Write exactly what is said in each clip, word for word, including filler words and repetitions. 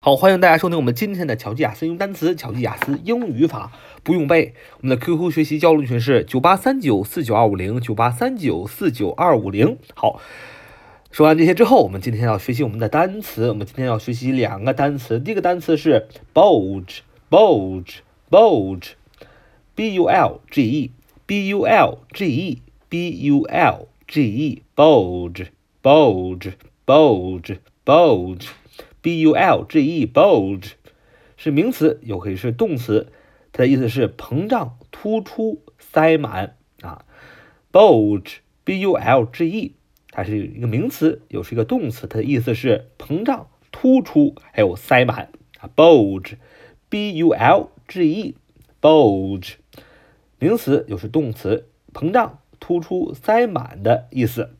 好，欢迎大家收听我们今天的巧记雅思英语单词、巧记雅思英语法，不用背。我们的 Q Q 学习交流群是九八三九四九二五零九八三九四九二五零。好，说完这些之后，我们今天要学习我们的单词。我们今天要学习两个单词，第一个单词是 bulge，bulge，bulge，b u l g e，b u l g e，b u l g e，bulge，bulge，bulge，bulge。B U L G E bulge 是名词，又可以是动词，它的意思是膨胀、突出、塞满啊。bulge B U L G E 它是一个名词，又是一个动词，它的意思是膨胀、突出还有塞满啊。bulge B U L G E bulge 名词又是动词，膨胀、突出、塞满的意思。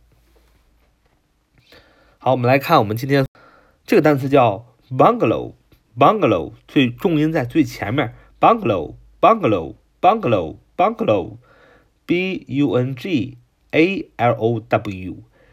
好，我们来看我们今天这个单词叫 bungalow bungalow 最重音在最前面 bungalow bungalow bungalow bungalow B U N G A L O W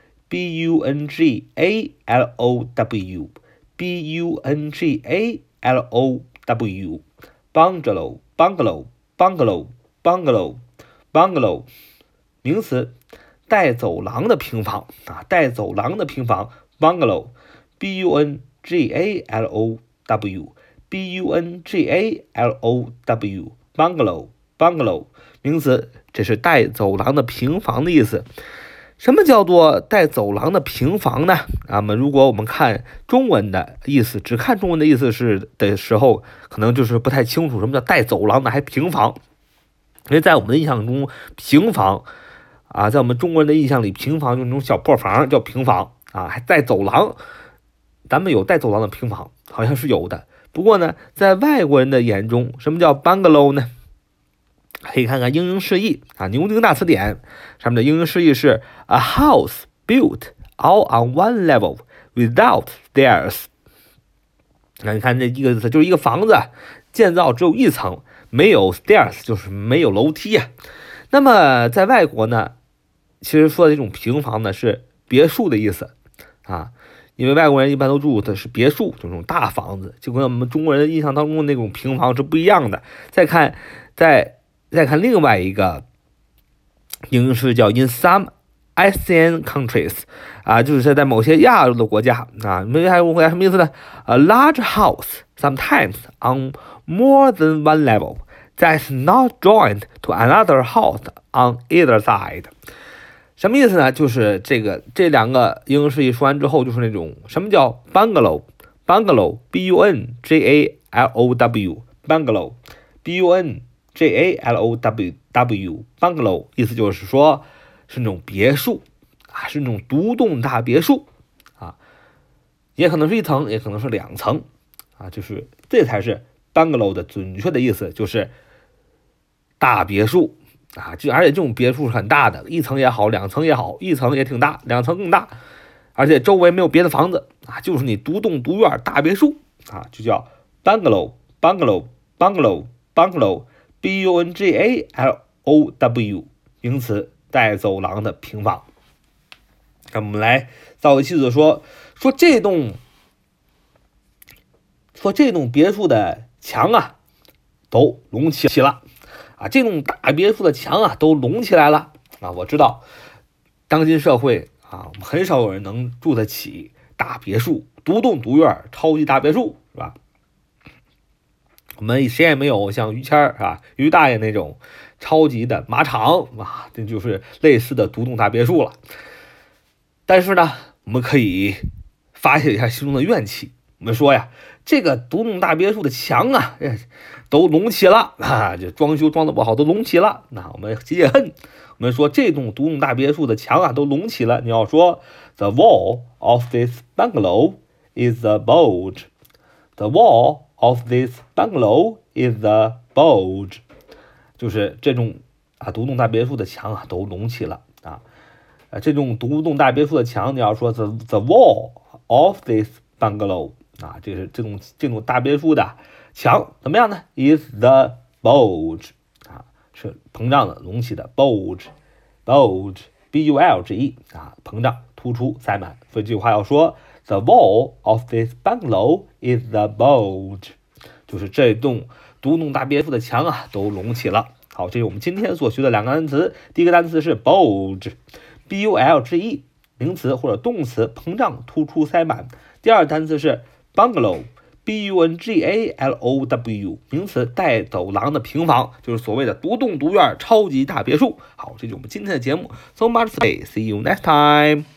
B U N G A L O W B U N G A L O W bungalow bungalow bungalow bungalow bungalow 名词，带走廊的平房啊，带走廊的平房 bungalow B U N G A L O W B U N G A L O W bungalow bungalow 名词，这是带走廊的平房的意思。什么叫做带走廊的平房呢？那么如果我们看中文的意思，只看中文的意思是的时候，可能就是不太清楚什么叫带走廊的还平房。因为在我们的印象中，平房啊，在我们中国人的印象里，平房就是那种小破房叫平房啊，还带走廊。咱们有带走廊的平房，好像是有的。不过呢，在外国人的眼中，什么叫 bungalow 呢？可以看看英英释义啊，牛津大词典上面的英英释义是 a house built all on one level without stairs。那你看这一个意思，就是一个房子建造只有一层，没有 stairs， 就是没有楼梯啊。那么在外国呢，其实说的这种平房呢是别墅的意思啊。因为外国人一般都住的是别墅，就这种大房子，就跟我们中国人印象当中的那种平房是不一样的。再看，再再看另外一个英式叫 in some Asian countries 啊，就是在某些亚洲的国家啊，某些亚洲国家什么意思呢？ A large house sometimes on more than one level that's not joined to another house on either side。什么意思呢？就是这个这两个英文释义说完之后，就是那种什么叫 bungalow bungalow B U N G A L O W bungalow B U N G A L O W W bungalow 意思就是说是那种别墅啊，是那种独栋大别墅啊，也可能是一层，也可能是两层啊，就是这才是 bungalow 的准确的意思，就是大别墅。啊，就而且这种别墅是很大的，一层也好，两层也好，一层也挺大，两层更大，而且周围没有别的房子啊，就是你独栋独院大别墅啊，就叫 bungalow bungalow bungalow bungalow B U N G A L O W 名词，带走廊的平房。那我们来造个句子说说这栋说这栋别墅的墙啊都隆起了。啊，这种大别墅的墙啊，都隆起来了啊！我知道，当今社会啊，很少有人能住得起大别墅、独栋独院、超级大别墅，是吧？我们谁也没有像于谦儿啊、于大爷那种超级的马场啊，这就是类似的独栋大别墅了。但是呢，我们可以发泄一下心中的怨气。我们说呀，这个独栋大别墅的墙啊，都隆起了啊，这装修装的不好都隆起了。那我们解解恨，我们说这栋独栋大别墅的墙啊都隆起了。你要说 The wall of this bungalow is a bulge. The wall of this bungalow is a bulge. 就是这种啊独栋大别墅的墙啊都隆起了啊。呃，这种独栋大别墅的墙，你要说 the the wall of this bungalow。啊，这是这种这种大别墅的墙怎么样呢 ？Is the bulge 啊，是膨胀的、隆起的 bulge bulge B U L G E 啊，膨胀、突出、塞满。所以这句话要说 The wall of this bungalow is the bulge， 就是这栋独栋大别墅的墙啊都隆起了。好，这是我们今天所学的两个单词。第一个单词是 bulge，B U L G E， 名词或者动词，膨胀、突出、塞满。第二个单词是 bungalow，B U N G A L O W， 名词，带走廊的平房，就是所谓的独栋独院超级大别墅。好，这就是我们今天的节目。So much, see you next time.